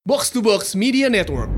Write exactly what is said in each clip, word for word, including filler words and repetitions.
Box to Box Media Network.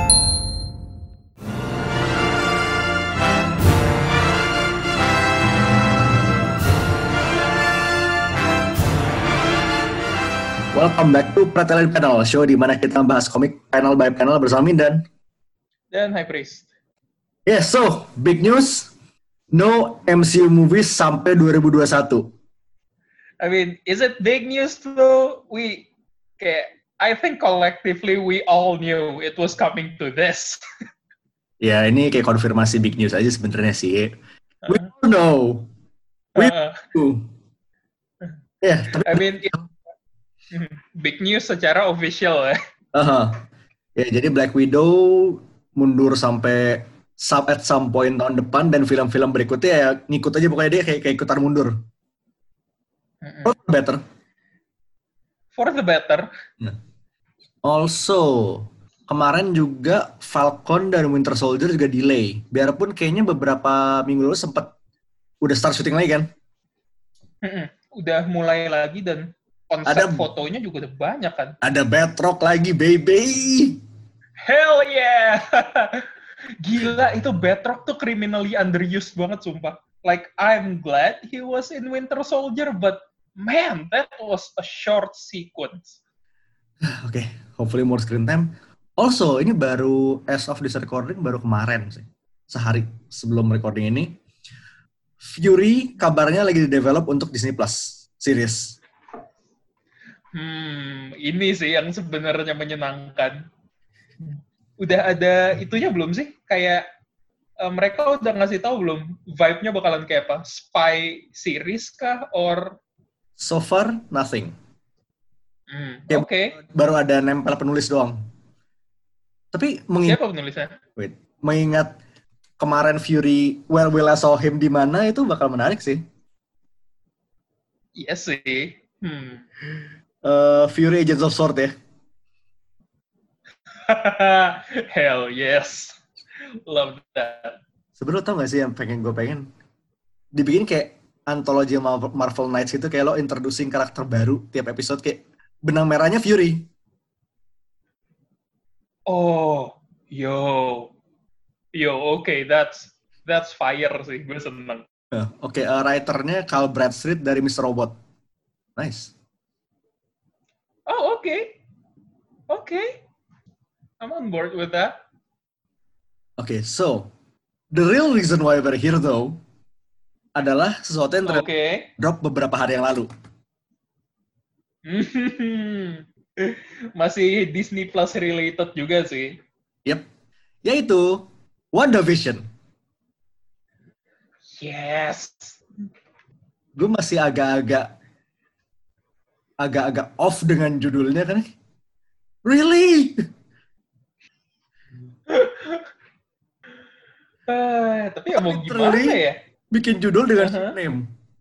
Welcome back to Pretelin Panel, show di mana kita membahas komik panel by panel bersama Mindan dan High Priest. Yes, so big news, no M C U movies sampai dua ribu dua puluh satu. I mean, is it big news though? We, kayak, I think collectively we all knew it was coming to this. Ya, ini kayak konfirmasi big news aja sebenarnya sih. We uh, know, we uh, know. Ya, yeah, tapi I mean, it, big news secara official ya. Uh-huh. Ya, jadi Black Widow mundur sampai sub at some point tahun depan dan film-film berikutnya ya ngikut aja pokoknya dia kayak, kayak ikutan mundur. Mm-mm. For the better. For the better. Nah. Also, kemarin juga Falcon dan Winter Soldier juga delay. Biarpun kayaknya beberapa minggu lalu sempat udah start syuting lagi kan? Mm-mm. Udah mulai lagi dan konsep ada, fotonya juga udah banyak kan? Ada Batroc lagi, baby! Hell yeah! Gila, itu Batroc tuh criminally underused banget, sumpah. Like, I'm glad he was in Winter Soldier, but man, that was a short sequence. Oke, okay. Hopefully more screen time. Also, ini baru, as of this recording, baru kemarin sih. Sehari sebelum recording ini. Fury kabarnya lagi di-develop untuk Disney Plus series. Hmm, ini sih yang sebenarnya menyenangkan. Udah ada itunya belum sih? Kayak uh, mereka udah ngasih tahu belum vibe-nya bakalan kayak apa? Spy series kah or so far nothing. Hmm, Oke. Okay. Baru ada nempel penulis doang. Tapi mengingat siapa penulisnya? Wait, mengingat kemarin Fury Where Will I Saw Him di mana itu bakal menarik sih. Iya sih. Hmm. Uh, Fury Agents of S W O R D ya. Hell yes. Love that. Sebenarnya tau gak sih yang pengen gue pengen dibikin kayak antologi Marvel Knights gitu, kayak lo introducing karakter baru tiap episode, kayak benang merahnya Fury. Oh, yo. Yo, oke, okay, that's that's fire sih, gue seneng. Uh, oke, okay, uh, writernya Carl Bradstreet dari mister Robot. Nice. Oh, oke. Okay. Oke. Okay. I'm on board with that. Oke, okay, so the real reason why we're here though adalah sesuatu yang ter- okay. drop beberapa hari yang lalu. Masih Disney Plus related juga sih. Yep. Yaitu WandaVision. Yes. Gue masih agak-agak agak-agak off dengan judulnya kan. Really? uh, tapi ya mau gimana ya? Bikin judul dengan uh-huh. name.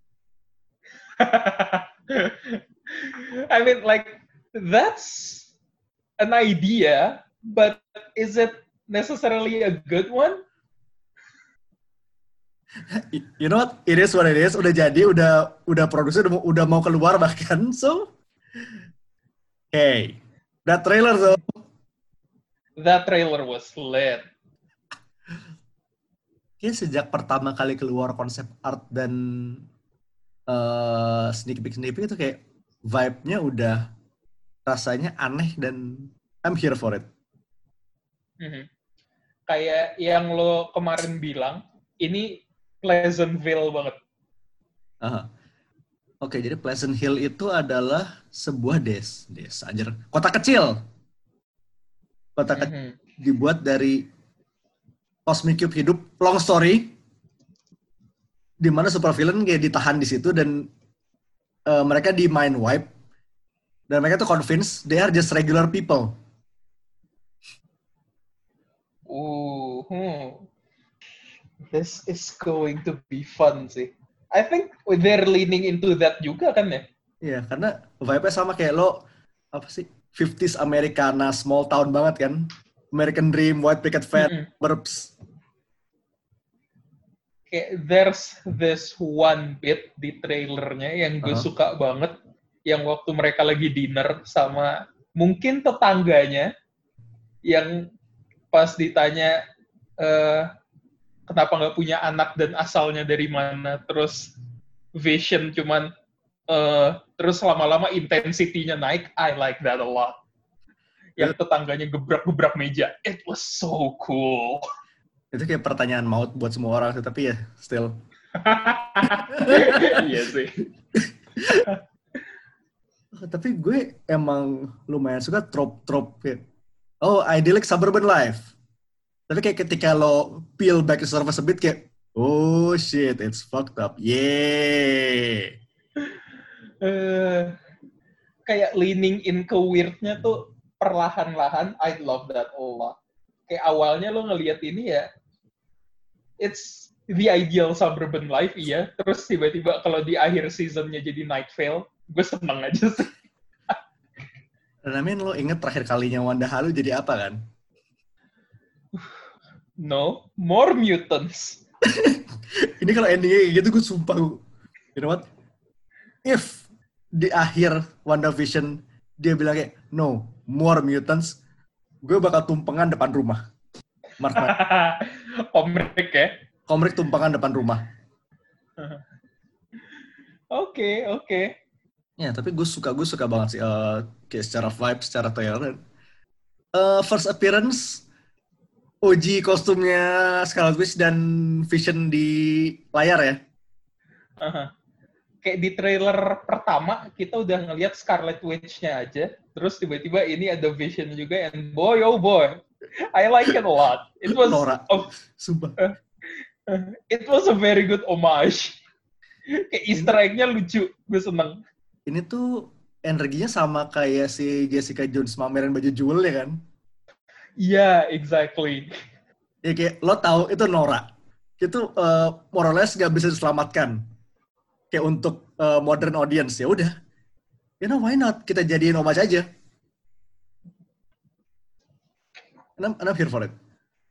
I mean, like, that's an idea, but is it necessarily a good one? You know what? It is what it is. Udah jadi, udah udah produksi, udah, udah mau keluar bahkan. So, hey, that trailer though. That trailer was lit. Kayaknya sejak pertama kali keluar konsep art dan uh, sneak peek sneak peek itu kayak vibe-nya udah rasanya aneh dan I'm here for it. Mm-hmm. Kayak yang lo kemarin bilang, ini Pleasantville banget. Uh-huh. Oke, okay, jadi Pleasant Hill itu adalah sebuah des, desa aja, kota kecil. Kota mm-hmm. kecil dibuat dari Cosmic Cube hidup, long story, di mana supervillain kayak ditahan di situ dan uh, mereka di mind wipe dan mereka tuh convinced they are just regular people. Ooh, hmm. This is going to be fun sih. I think they're leaning into that juga kan ya? Iya, karena vibe-nya sama kayak lo, apa sih, fifties Americana, small town banget kan? American Dream, White Picket Fence, mm-hmm. Burbs. Kayak there's this one bit di trailernya yang gue uh-huh. suka banget, yang waktu mereka lagi dinner sama mungkin tetangganya yang pas ditanya uh, kenapa nggak punya anak dan asalnya dari mana, terus Vision cuman uh, terus lama-lama intensitinya naik. I like that a lot. Yang tetangganya gebrak-gebrak meja, it was so cool. Itu kayak pertanyaan maut buat semua orang sih, tapi ya still. Iya sih. Tapi gue emang lumayan suka trop-trop kayak, oh, idyllic suburban life. Tapi kayak ketika lo peel back the surface a bit kayak, oh shit, it's fucked up. Yeah. Uh, kayak leaning in ke weirdnya tuh perlahan-lahan. I love that a lot. Kayak awalnya lo ngelihat ini ya, it's the ideal suburban life, iya. Terus tiba-tiba kalau di akhir seasonnya jadi Night Vale, gue seneng aja sih. Dan I mean, lo inget terakhir kalinya Wanda Halu jadi apa kan? No, more mutants. Ini kalau endingnya kayak gitu, gue sumpah. You know what? If di akhir WandaVision dia bilang kayak, no, more mutants, gue bakal tumpengan depan rumah. Mark Mark. Komrik ya? Komrik tumpengan depan rumah. Oke, oke. Okay. Ya, tapi gue suka, gue suka banget sih. Uh, kayak secara vibe, secara trailer. Uh, first appearance, O G kostumnya Scarlet Witch dan Vision di layar ya. Uh-huh. Kayak di trailer pertama, kita udah ngelihat Scarlet Witch-nya aja. Terus tiba-tiba ini ada Vision juga, and boy, oh boy. I like it a lot. It was Nora. A, Sumpah. Uh, uh, it was a very good homage. Kayak Easter egg-nya lucu. Gue seneng. Ini tuh energinya sama kayak si Jessica Jones mamerin baju jewel ya kan? Iya, yeah, exactly. Ya kayak lo tahu itu Nora. Itu uh, more or less gak bisa diselamatkan. Kayak untuk uh, modern audience, ya udah. You know, why not? Kita jadiin homage aja. And I'm, and I'm here for it.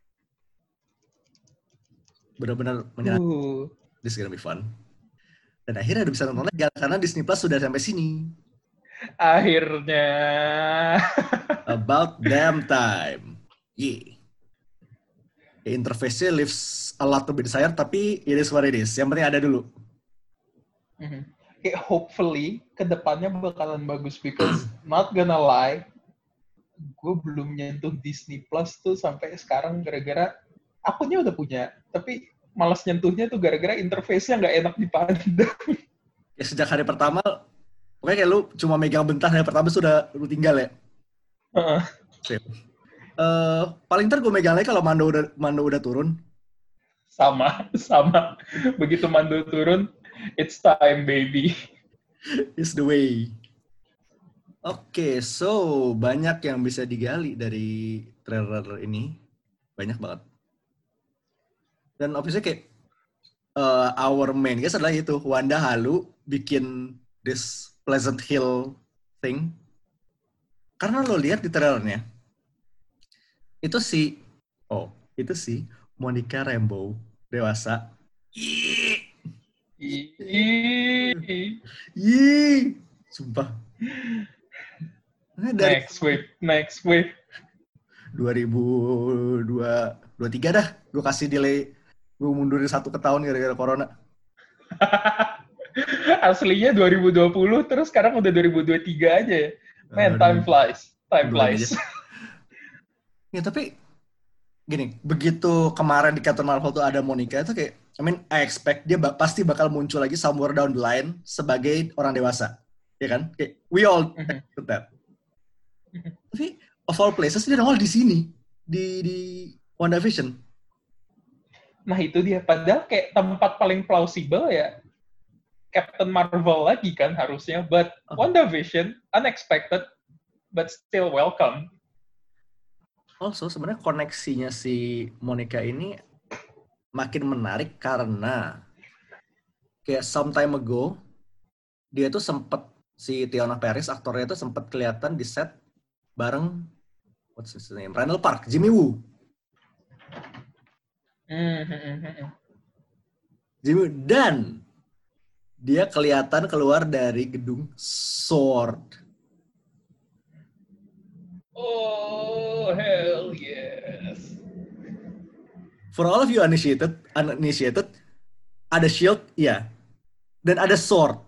Benar-benar menyenangkan. Uh. This is gonna be fun. Dan akhirnya udah bisa nonton legal karena Disney Plus sudah sampai sini. Akhirnya. About damn time. Yeah. Ya, interface-nya leaves a lot to be desired, tapi it is what it is. Yang penting ada dulu. Mm-hmm. Kayak hopefully kedepannya bakalan bagus because not gonna lie, gue belum nyentuh Disney Plus tuh sampai sekarang gara-gara akunnya udah punya, tapi malas nyentuhnya tuh gara-gara interface-nya nggak enak dipandang. Ya sejak hari pertama, pokoknya kayak lu cuma megang bentar hari pertama sudah lu tinggal ya. Uh-uh. Uh, paling ntar gue megang lagi kalau Mando udah Mando udah turun. Sama, sama. Begitu Mando turun, it's time baby. It's the way. Oke, okay, so banyak yang bisa digali dari trailer ini, banyak banget. Dan obviously kayak uh, our main guys adalah itu Wanda Halu bikin this Pleasant Hill thing. Karena lo lihat di trailernya, itu si, oh, itu si Monica Rambeau dewasa. Yee, yee, sumpah. Nah, dari next wave, next wave. dua ribu dua puluh tiga dah, gue kasih delay, gue mundurin satu ke tahun gara-gara corona. Aslinya dua ribu dua puluh, terus sekarang udah dua ribu dua puluh tiga aja ya. Man, time flies. Time flies. Ya, tapi gini, begitu kemarin di Captain Marvel tuh ada Monica, itu kayak, I mean, I expect dia ba- pasti bakal muncul lagi somewhere down the line sebagai orang dewasa. Ya kan? Kayak, we all expect that. Tapi, of all places, dia nongol di sini. Di, di WandaVision. Nah, itu dia. Padahal kayak tempat paling plausible ya Captain Marvel lagi kan harusnya. But oh. WandaVision, unexpected, but still welcome. Also, sebenarnya koneksinya si Monica ini makin menarik karena kayak some time ago, dia tuh sempet, si Tiana Paris, aktornya tuh sempet kelihatan di set bareng, what's his name, Randall Park, Jimmy Woo. Mm-hmm. Jimmy Woo. Dan dia kelihatan keluar dari gedung S W O R D. Oh, hell yes. For all of you uninitiated, uninitiated, ada shield, ya, dan ada sword.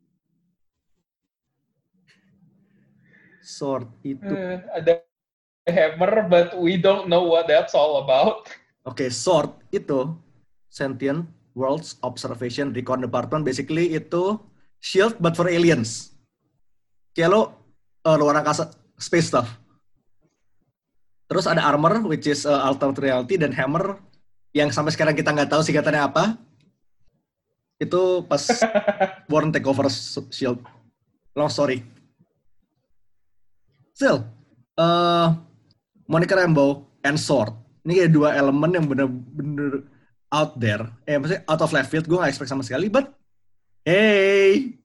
Sword itu. Uh, ada hammer, but we don't know what that's all about. Oke, okay, sword itu Sentient Worlds Observation Recon Department, basically itu shield but for aliens. Kayak lo uh, luar angkasa, space stuff. Terus ada armor, which is uh, alternate reality, dan hammer yang sampai sekarang kita nggak tahu singkatannya apa. Itu pas Born take over shield. Long story. Still, uh, Monica Rambeau and sword. Ini kayak dua elemen yang bener-bener out there. Eh, maksudnya out of left field. Gue gak expect sama sekali, but hey!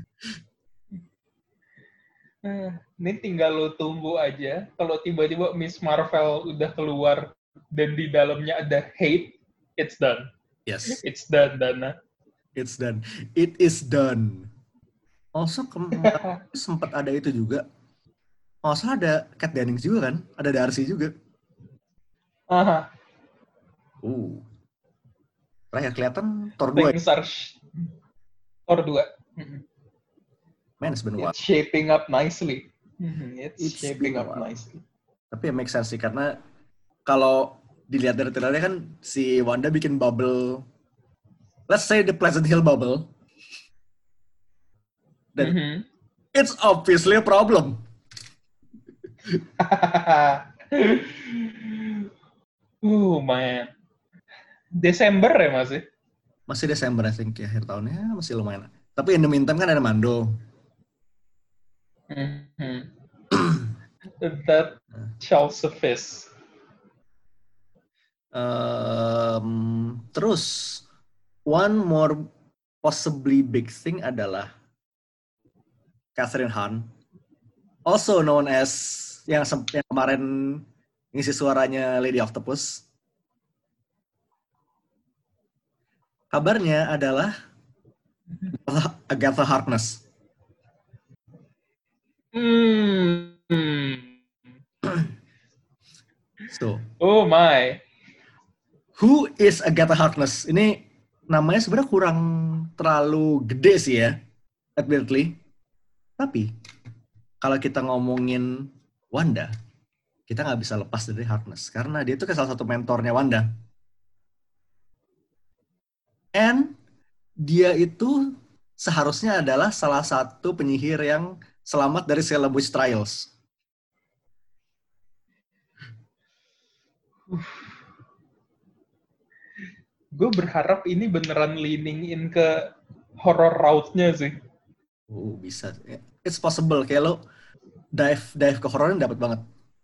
Ini tinggal lo tunggu aja. Kalau tiba-tiba Miss Marvel udah keluar dan di dalamnya ada hate, it's done. Yes. It's done, Dana. It's done. It is done. Also, kemarin sempat ada itu juga. Also ada Kat Dennings juga kan? Ada Darcy juga. Aha. Uh. Terakhir kelihatan Thor dua. Things are sh- Thor dua. Man, it's been a while. It's shaping up nicely. It's, It's shaping up nicely. Tapi ya make sense sih, karena kalau dilihat dari trailernya kan si Wanda bikin bubble, let's say the Pleasant Hill bubble. Dan mm-hmm. It's obviously a problem. Oh man. Desember ya masih? Masih Desember, I think, ya, akhir tahunnya masih lumayan. Tapi in the meantime kan ada Mando. Mm-hmm. That shall suffice. Um, terus, one more possibly big thing adalah Catherine Hahn, also known as yang, yang kemarin ngisi suaranya Lady Octopus. Kabarnya adalah Agatha Harkness. Hmm. So, oh my. Who is Agatha Harkness? Ini namanya sebenarnya kurang terlalu gede sih ya, admittedly. Tapi kalau kita ngomongin Wanda, kita nggak bisa lepas dari Harkness karena dia itu kan salah satu mentornya Wanda. And dia itu seharusnya adalah salah satu penyihir yang selamat dari Salem Witch Trials. Gue berharap ini beneran leaning in ke horror route-nya sih. Oh, bisa. It's possible. Kayak lo dive dive ke horornya dapat banget.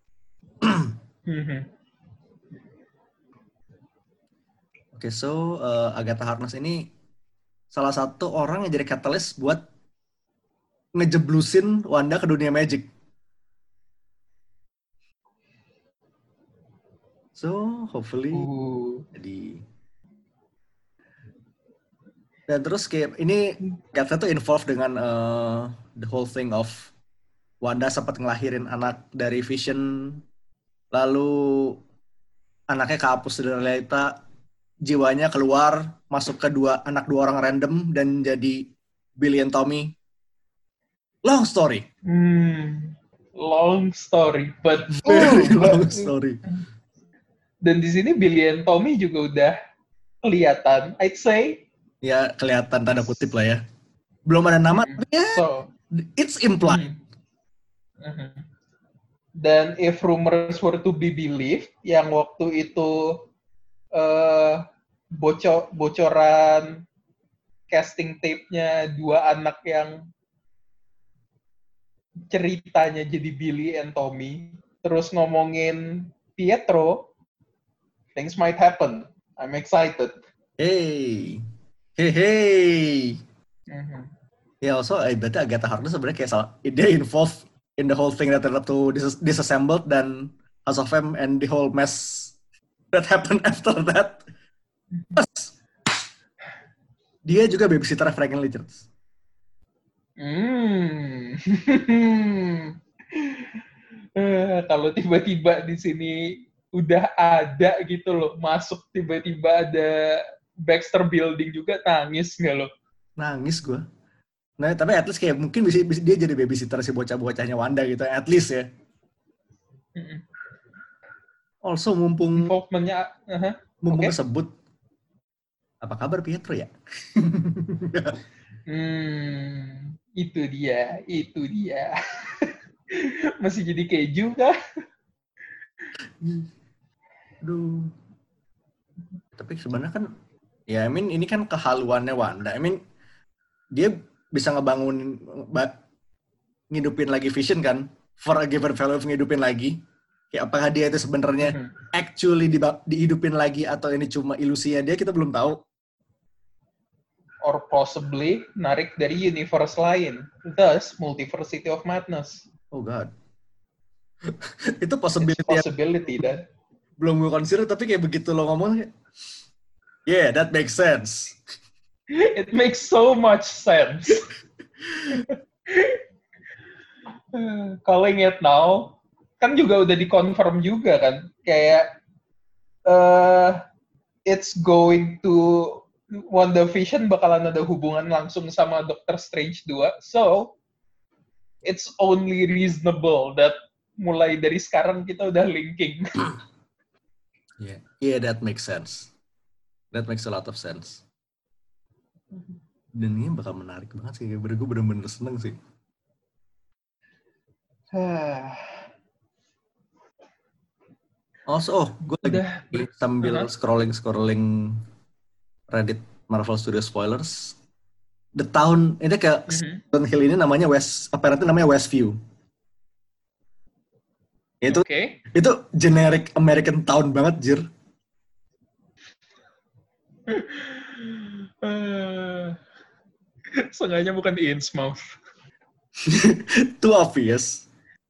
Oke, okay, so uh, Agatha Harkness ini salah satu orang yang jadi catalyst buat ngejeblusin Wanda ke dunia magic. So, hopefully uh. jadi. Dan terus kayak ini Agatha tuh involved dengan uh, the whole thing of Wanda sempat ngelahirin anak dari Vision, lalu anaknya kehapus dari realita, jiwanya keluar, masuk ke dua anak dua orang random dan jadi Billy and Tommy. Long story. Hmm, long story, but very oh, long story. Dan di sini Billy and Tommy juga udah kelihatan, I'd say. Ya, kelihatan tanda kutip lah ya. Belum ada nama, tapi ya, so, it's implied. Mm-hmm. Dan if rumors were to be believed, yang waktu itu uh, bocor bocoran casting tape-nya dua anak yang ceritanya jadi Billy and Tommy, terus ngomongin Pietro, things might happen. I'm excited. Hey. Hey, hey. Mm-hmm. Ya, yeah, also, I berarti Agatha Harkness sebenarnya kayak salah, dia involved in the whole thing that led to dis- disassembled dan House of M and the whole mess that happened after that. Plus, dia juga babysitter Franklin Richards. Mm. Eh, kalau tiba-tiba di sini udah ada gitu loh, masuk tiba-tiba ada Baxter Building juga, nangis nggak lo? Nangis gue. Nah, tapi at least kayak mungkin bisa, bisa dia jadi babysitter si bocah-bocahnya Wanda gitu, at least ya. Mm-mm. Also mumpung Involvementnya, uh-huh. mumpung Okay. kesebut, apa kabar Pietro ya? Hmm, itu dia, itu dia. Masih jadi keju kah? Aduh. Tapi sebenarnya kan, ya I mean ini kan kehaluannya Wanda. I mean dia bisa ngebangun, ngidupin lagi Vision kan, for a given value of ngidupin lagi. Kayak apakah dia itu sebenarnya mm-hmm. actually di, dihidupin lagi atau ini cuma ilusinya dia, kita belum tahu. Or possibly narik dari universe lain, thus Multiversity of Madness. Oh God. Itu possibility, possibility that belum gue consider, tapi kayak begitu lo ngomong, yeah, that makes sense. It makes so much sense. Calling it now, kan juga udah dikonfirm juga kan, kayak uh, it's going to WandaVision bakalan ada hubungan langsung sama Doctor Strange two, so it's only reasonable that mulai dari sekarang kita udah linking. Yeah, yeah, that makes sense. That makes a lot of sense. Dan ini bakal menarik banget sih, gue bener-bener seneng sih. Also, oh, gue lagi udah. sambil uh-huh. scrolling-scrolling Reddit Marvel Studios spoilers. The town, ini kayak mm-hmm. Hill ini namanya West, apparently namanya Westview. Itu, okay. itu generic American town banget, Jir. uh, Sengaja bukan di Innsmouth. Too obvious.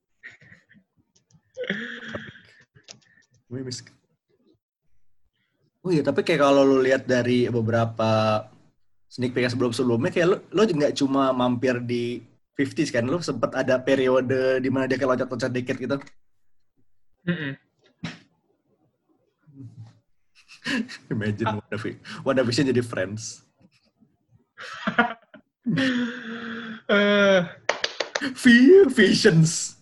Oh iya, tapi kayak kalau lu lihat dari beberapa sneak peek sebelum-sebelumnya, kayak lu, lu nggak cuma mampir di lima puluhan kan, lu sempat ada periode di mana dia kayak loncat-loncat dikit gitu. Mm-mm. Imagine WandaVision jadi Friends. uh, Visions.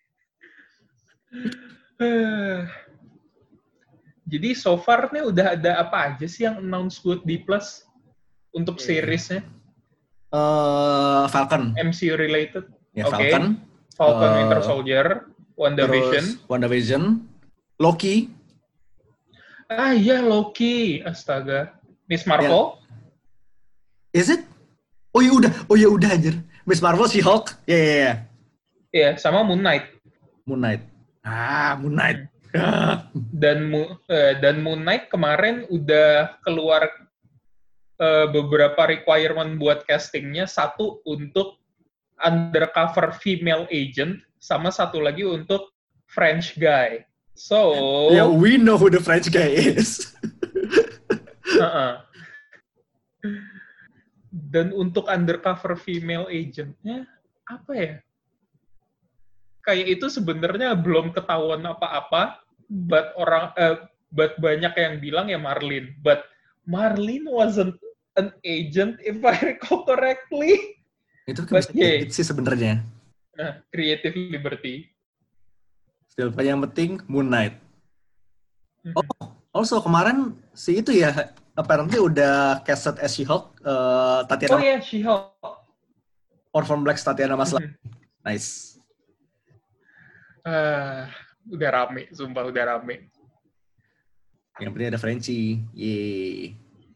Uh, jadi so far nih udah ada apa aja sih yang announce buat D Plus untuk seriesnya? Uh, Falcon. M C U related. Ya, Oke. Okay. Falcon. Falcon uh, Winter Soldier, WandaVision. WandaVision. Loki. Ah iya, Loki. Astaga. Miss Marvel. Yeah. Is it? Oh iya udah, oh iya udah anjir. Miss Marvel, She-Hulk. Iya, yeah, iya, yeah, iya. Yeah. Iya, yeah, sama Moon Knight. Moon Knight. Ah, Moon Knight. dan uh, dan Moon Knight kemarin udah keluar uh, beberapa requirement buat castingnya. Satu untuk undercover female agent, sama satu lagi untuk French guy. So, yeah, we know who the French guy is. uh-uh. Dan untuk undercover female agentnya apa ya? Kayak itu sebenarnya belum ketahuan apa-apa, but orang, uh, but banyak yang bilang ya Marlene. But Marlene wasn't an agent if I recall correctly. Itu kan bisa yeah. sih sebenarnya. Nah, creative liberty. Still, yang penting Moon Knight. Mm-hmm. Oh, also kemarin si itu ya, apparently udah casted as She-Hulk, uh, Tatiana. Oh iya, yeah, She-Hulk. Orphan Black Tatiana Maslany. Mm-hmm. Nice. Uh, udah rame, sumpah udah rame. Yang penting ada Frenchie. Yeay.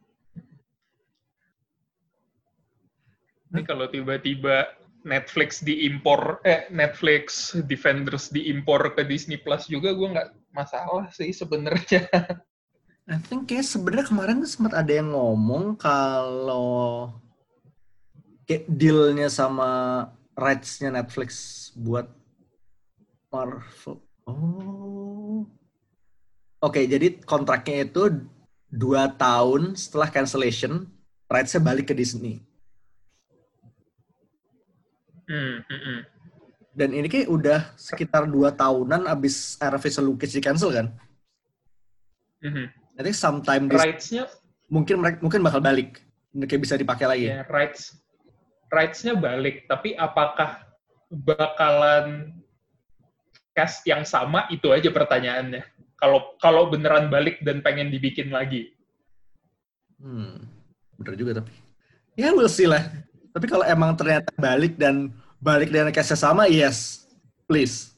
Ini kalau tiba-tiba Netflix diimpor, eh Netflix Defenders diimpor ke Disney Plus juga, gue nggak masalah sih sebenarnya. I think kayak sebenarnya kemarin sempat ada yang ngomong kalau kayak deal-nya sama rights-nya Netflix buat Marvel. Oh. Oke, okay, jadi kontraknya itu dua tahun setelah cancellation, rights-nya balik ke Disney. Hmm, hmm, hmm. Dan ini kayak udah sekitar dua tahunan abis Iron Fist Luke Cage di cancel kan? Mm-hmm. Nanti sometime this, rights-nya mungkin mereka mungkin bakal balik, kayak bisa dipakai lagi. Ya, rights rights-nya balik, tapi apakah bakalan cast yang sama, itu aja pertanyaannya. Kalau kalau beneran balik dan pengen dibikin lagi. Hmm, bener juga tapi. Ya we'll see lah. Tapi kalau emang ternyata balik dan balik dengan cast-nya sama, yes, please.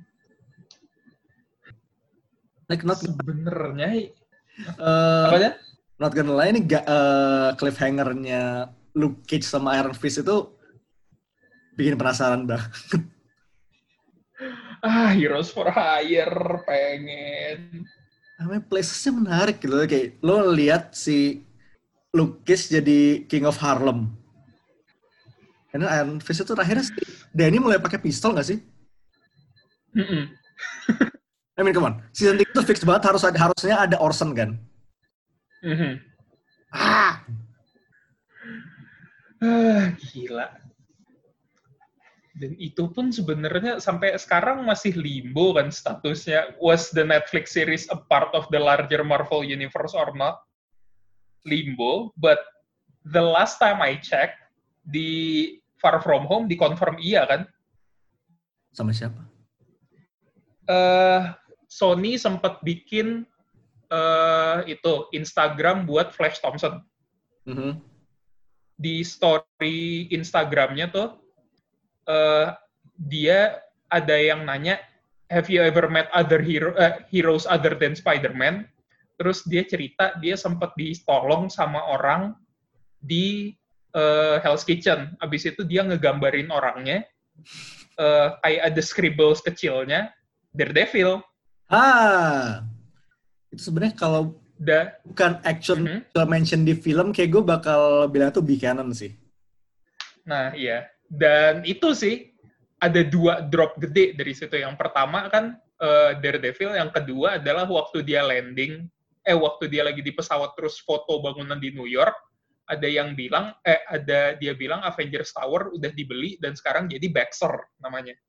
Like not sebenarnya uh, apa ya? Not gonna lie, ini ga, uh, cliffhanger-nya Luke Cage sama Iron Fist itu bikin penasaran banget. Ah, Heroes for Hire, pengen. Namanya places-nya menarik gitu. Kayak lo lihat si Luke Cage jadi King of Harlem. Karena Iron Fist itu terakhirnya si Danny mulai pakai pistol nggak sih? Mm-mm. I mean, come on. Season tiga itu fix banget harus ada, harusnya ada Orson kan? Mm-hmm. Ah! Ah, gila. Dan itu pun sebenarnya sampai sekarang masih limbo kan statusnya. Was the Netflix series a part of the larger Marvel universe or not? Limbo. But the last time I checked, di Far From Home dikonfirm iya kan? Sama siapa? Uh, Sony sempat bikin uh, itu Instagram buat Flash Thompson. Mm-hmm. Di story Instagramnya tuh uh, dia ada yang nanya, have you ever met other hero, uh, heroes other than Spider-Man? Terus dia cerita dia sempat ditolong sama orang di uh, Hell's Kitchen. Abis itu dia ngegambarin orangnya, uh, kayak ada scribbles kecilnya, Daredevil. Ah, itu sebenarnya kalau Da, bukan action mm-hmm. mention di film, kayak gue bakal bilang tuh Buchanan sih. Nah, iya. Dan itu sih, ada dua drop gede dari situ. Yang pertama kan uh, Daredevil, yang kedua adalah waktu dia landing, eh waktu dia lagi di pesawat terus foto bangunan di New York, ada yang bilang, eh ada dia bilang Avengers Tower udah dibeli dan sekarang jadi Baxter namanya.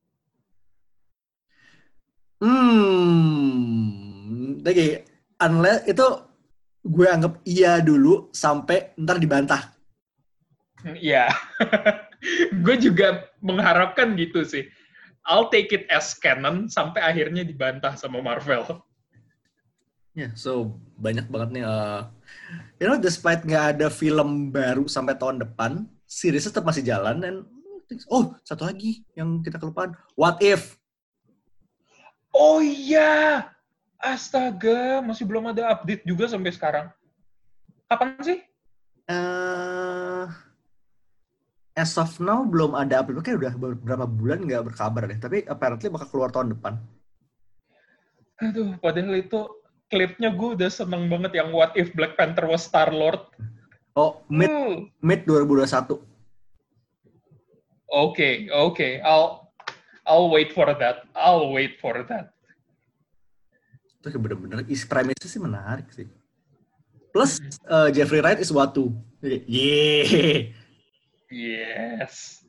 Hmm, oke. Unless itu gue anggap iya dulu sampai ntar dibantah. Iya. Gue juga mengharapkan gitu sih. I'll take it as canon sampai akhirnya dibantah sama Marvel. Ya, yeah, so banyak banget nih. Uh, you know, despite nggak ada film baru sampai tahun depan, series tetap masih jalan. Dan oh, satu lagi yang kita kelupaan. What If? Oh iya! Astaga, masih belum ada update juga sampai sekarang. Kapan sih? Uh, as of now belum ada update. Kayak udah beberapa bulan nggak berkabar deh. Tapi apparently bakal keluar tahun depan. Aduh, padahal itu klipnya gue udah seneng banget yang What If Black Panther was Star-Lord. Oh, mid, uh. mid dua ribu dua puluh satu. Oke, okay, oke. Okay. I'll, I'll wait for that. I'll wait for that. Itu bener-bener isi premisnya sih menarik sih. Plus uh, Jeffrey Wright is Watu. Yeah. Yes.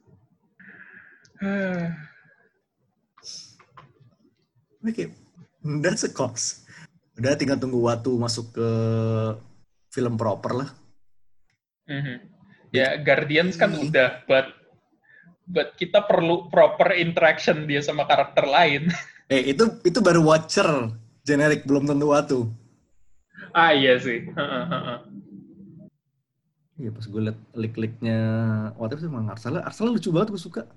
Oke, that's a cost. Udah tinggal tunggu Watu masuk ke film proper lah. Mm-hmm. Ya, Guardians kan mm. udah, but but kita perlu proper interaction dia sama karakter lain. Eh, itu itu baru Watcher. Generik, belum tentu Watu. Ah, iya sih. Iya, pas gue liat lik-liknya What If emang Arsala. Arsala lucu banget, gue suka.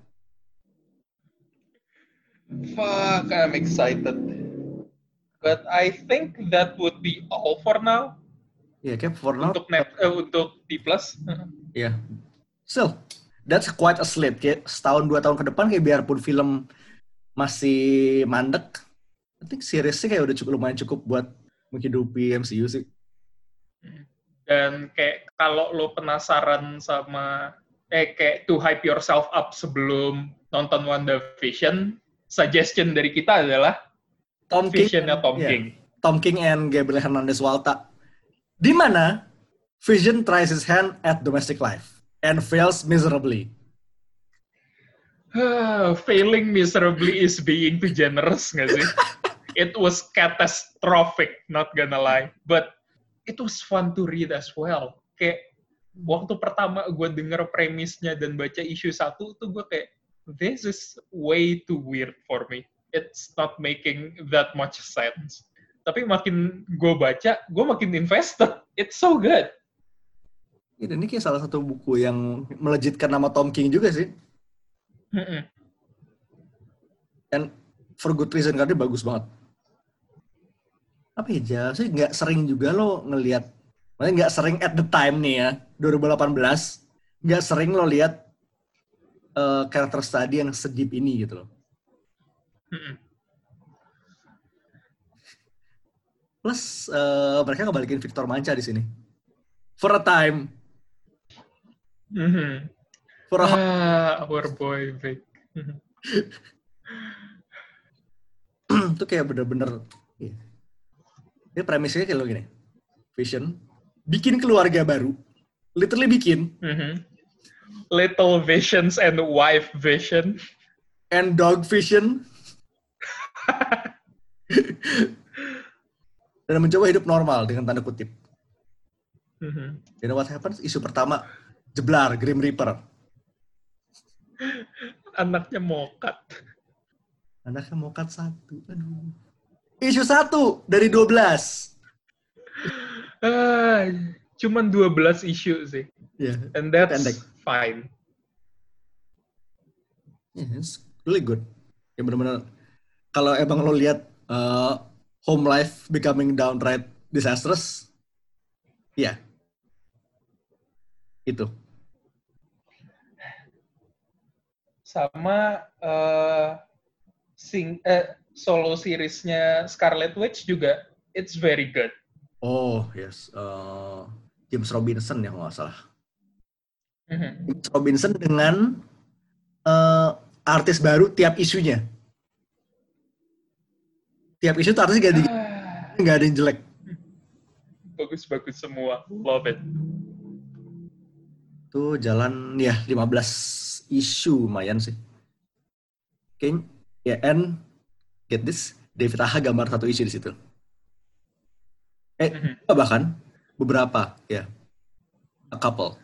Fuck, I'm excited. But I think that would be all for now. Iya, yeah, kayak for now. Untuk net, uh, untuk D plus. Iya. Yeah. So, that's quite a slate. Kayak setahun, dua tahun ke depan, kayak biarpun film masih mandek, I think seriesnya kayak udah cukup lumayan cukup buat menghidupi M C U sih. Dan kayak kalau lo penasaran sama eh kayak to hype yourself up sebelum nonton WandaVision, suggestion dari kita adalah Tom Vision-nya Tom yeah. King. Tom King and Gabriel Hernandez Walta. Di mana Vision tries his hand at domestic life and fails miserably. Failing miserably is being too generous, nggak sih? It was catastrophic, not gonna lie. But it was fun to read as well. Kayak waktu pertama gue denger premisnya dan baca issue satu tuh gue kayak, this is way too weird for me. It's not making that much sense. Tapi makin gue baca, gue makin invested. It's so good. Ini, ini kayak salah satu buku yang melejitkan nama Tom King juga sih. Mm-mm. And for good reason, karena dia bagus banget. Apa ya, sih nggak sering juga lo ngelihat, maksudnya nggak sering at the time nih ya, dua ribu delapan belas, nggak sering lo lihat uh, karakter study yang sedip ini gitu loh. Mm-mm. Plus uh, mereka ngebalikin Victor Mancha di sini. For a time. Mm-hmm. For a ah, our boy Vic. Itu kayak bener-bener. Yeah. Dia premisnya kayak lo gini. Vision. Bikin keluarga baru. Literally bikin. Mm-hmm. Little visions and wife vision. And dog vision. Dan mencoba hidup normal dengan tanda kutip. Mm-hmm. You know what happens? Isu pertama. Jeblar. Grim Reaper. Anaknya mokat. Anaknya mokat satu. Aduh. Isu satu dari dua belas. Ah, cuman dua belas isu sih. Yeah. And that's Pendek. fine. Yeah, it's really good. Ya benar-benar kalau emang lo lihat uh, home life becoming downright disastrous, ya yeah. Itu. Sama uh, sing eh, solo seriesnya Scarlet Witch juga, it's very good. Oh yes, uh, James Robinson ya kalau nggak salah. Mm-hmm. James Robinson dengan uh, artis baru tiap isunya. Tiap isu tuh artisnya nggak ah. nggak ada yang jelek. Bagus-bagus semua, love it. Tuh jalan ya lima belas isu lumayan sih. Oke, ya and get this, David Aja gambar satu isu di situ. Eh, mm-hmm. bahkan beberapa, ya, yeah. A couple.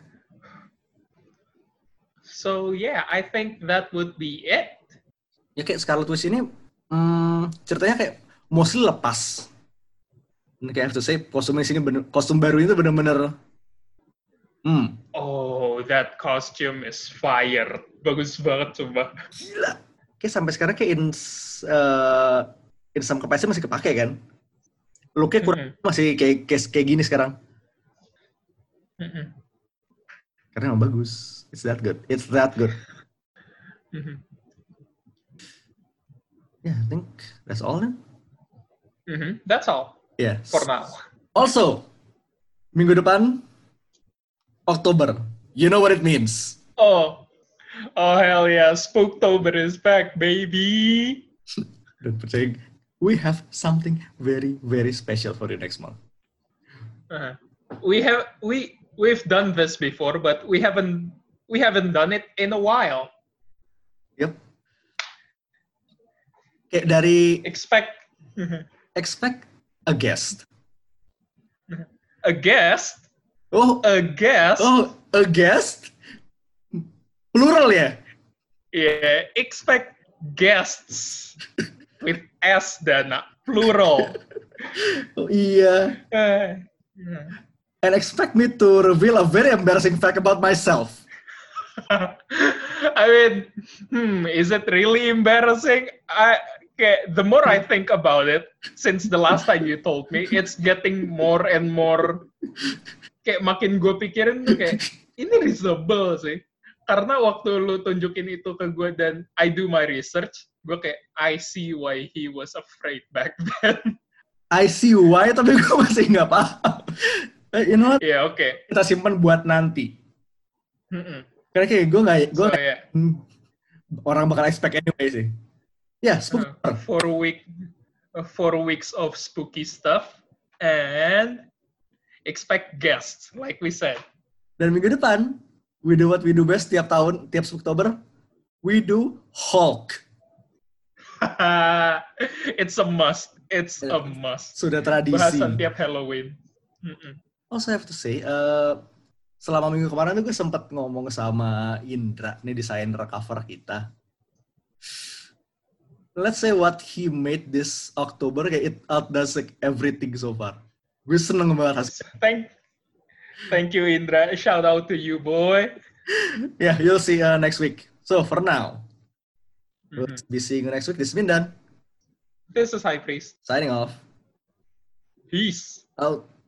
So yeah, I think that would be it. Ya kayak Scarlet Witch ini, hmm, ceritanya kayak mostly lepas. Ini kayak have to say, kostum ini bener, kostum baru itu bener-bener. Hmm. Oh, that costume is fire. Bagus banget, coba. Gila. Kayak sampai sekarang kayak in, uh, in some capacity masih kepake kan? Look-nya kurang mm-hmm. masih kayak, kayak kayak gini sekarang. Mm-hmm. Karena emang bagus. It's that good. It's that good. Mm-hmm. Yeah, I think that's all then. Mm-hmm. That's all. Yeah. For now. Also, minggu depan Oktober. You know what it means. Oh. Oh, hell yeah. Spooktober is back, baby. Don't percaya. We have something very, very special for you next month. Uh-huh. We have we we've done this before, but we haven't we haven't done it in a while. Yep. Kayak dari expect expect a guest. A guest? Oh, a guest? Oh, a guest? Plural ya? Yeah, expect guests with S dan plural. Oh iya. Uh, And expect me to reveal a very embarrassing fact about myself. I mean, hmm, is it really embarrassing? I okay, the more I think about it, since the last time you told me, it's getting more and more kayak makin gue pikirin tuh kayak ini reasonable sih. Karena waktu lu tunjukin itu ke gue dan I do my research, gue kayak I see why he was afraid back then. I see why, tapi gue masih nggak paham. You know what? Iya, yeah, oke. Okay. Kita simpan buat nanti. Mm-mm. Karena kayak gue nggak, gue so, yeah. orang bakal expect anyway sih. Ya, yeah, spooky. Uh, four week, uh, four weeks of spooky stuff and expect guests, like we said. Dan minggu depan, we do what we do best tiap tahun, tiap Oktober, we do Hulk. It's a must. It's a must. Sudah tradisi. Bahasan tiap Halloween. Mm-mm. Also I have to say, uh, selama minggu kemarin tuh gue sempat ngomong sama Indra, nih desainer cover kita. Let's say what he made this October, kayak it outdoes like everything so far. Gue seneng banget. Thank, thank you Indra. Shout out to you, boy. Yeah, you'll see uh, next week. So for now, mm-hmm. we'll be seeing you next week. This is Mindan. This is High Priest. Signing off. Peace. Out.